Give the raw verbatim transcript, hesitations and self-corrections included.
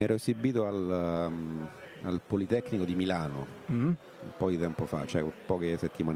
ero esibito al, um, al Politecnico di Milano Mm. un po' di tempo fa, cioè poche settimane